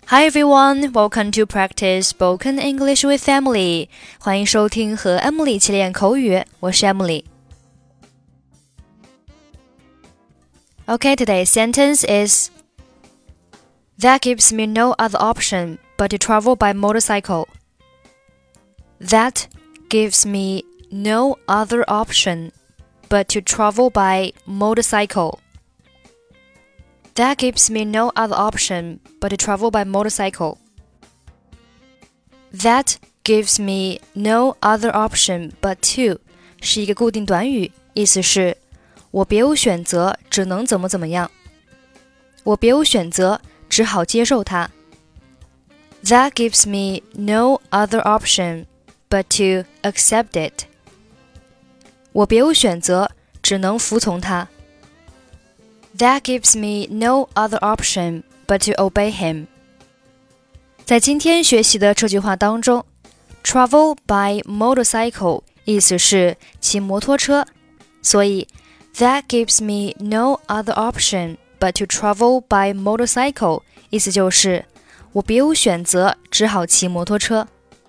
Hi everyone, welcome to practice spoken English with Emily. 欢迎收听和 Emily 一起练口语，我是 Emily. Okay, today's sentence is That gives me no other option but to travel by motorcycle. That gives me no other option but to travel by motorcycle.That gives me no other option but to travel by motorcycle. That gives me no other option but to 是一个固定短语，意思是我别无选择，只能怎么怎么样。我别无选择，只好接受它。That gives me no other option but to accept it. 我别无选择，只能服从它。That gives me no other option but to obey him. 在今天学习的这句话当中 travel by motorcycle 意思是骑摩托车，所以 That gives me no other option but to travel by motorcycle 意思就是我别无选择，只好骑摩托车。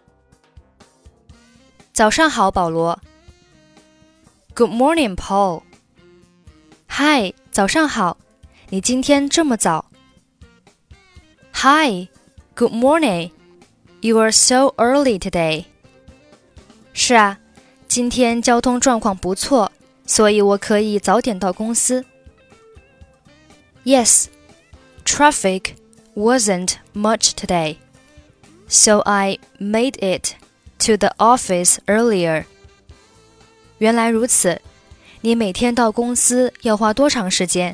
早上好，保罗。Good morning, Paul. Hi, 早上好，你今天这么早。Hi, good morning. You are so early today. 是啊，今天交通状况不错，所以我可以早点到公司。Yes, traffic wasn't much today, so I made it to the office earlier. 原来如此。你每天到公司要花多长时间？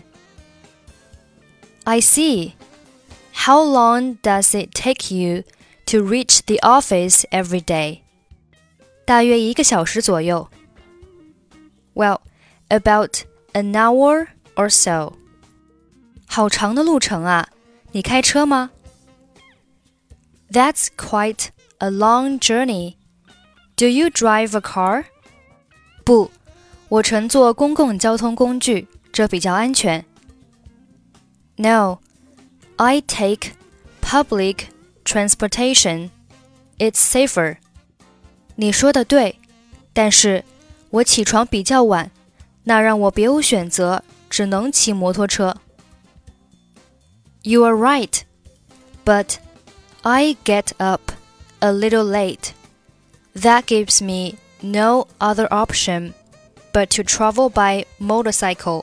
I see. How long does it take you to reach the office every day? 大约1个小时左右。Well, about an hour or so. 好长的路程啊，你开车吗？ That's quite a long journey. Do you drive a car? 不。我乘坐公共交通工具，这比较安全。No, I take public transportation. It's safer. 你说的对，但是我起床比较晚，那让我别无选择，只能骑摩托车。You are right, but I get up a little late. That gives me no other option.But to travel by motorcycle.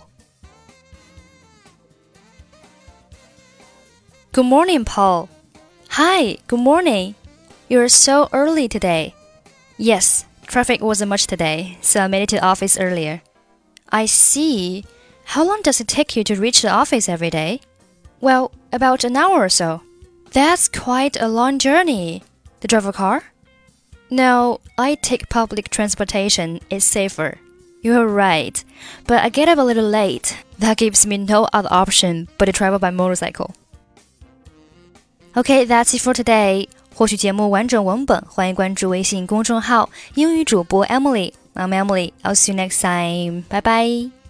Good morning, Paul. Hi, good morning. You're so early today. Yes, traffic wasn't much today, so I made it to the office earlier. I see. How long does it take you to reach the office every day? Well, about an hour or so. That's quite a long journey. Do you drive a car? No, I take public transportation. It's safer.You're right, but I get up a little late. That gives me no other option but to travel by motorcycle. Okay, that's it for today. 获取节目完整文本，欢迎关注微信公众号英语主播 Emily. I'm Emily. I'll see you next time. Bye bye.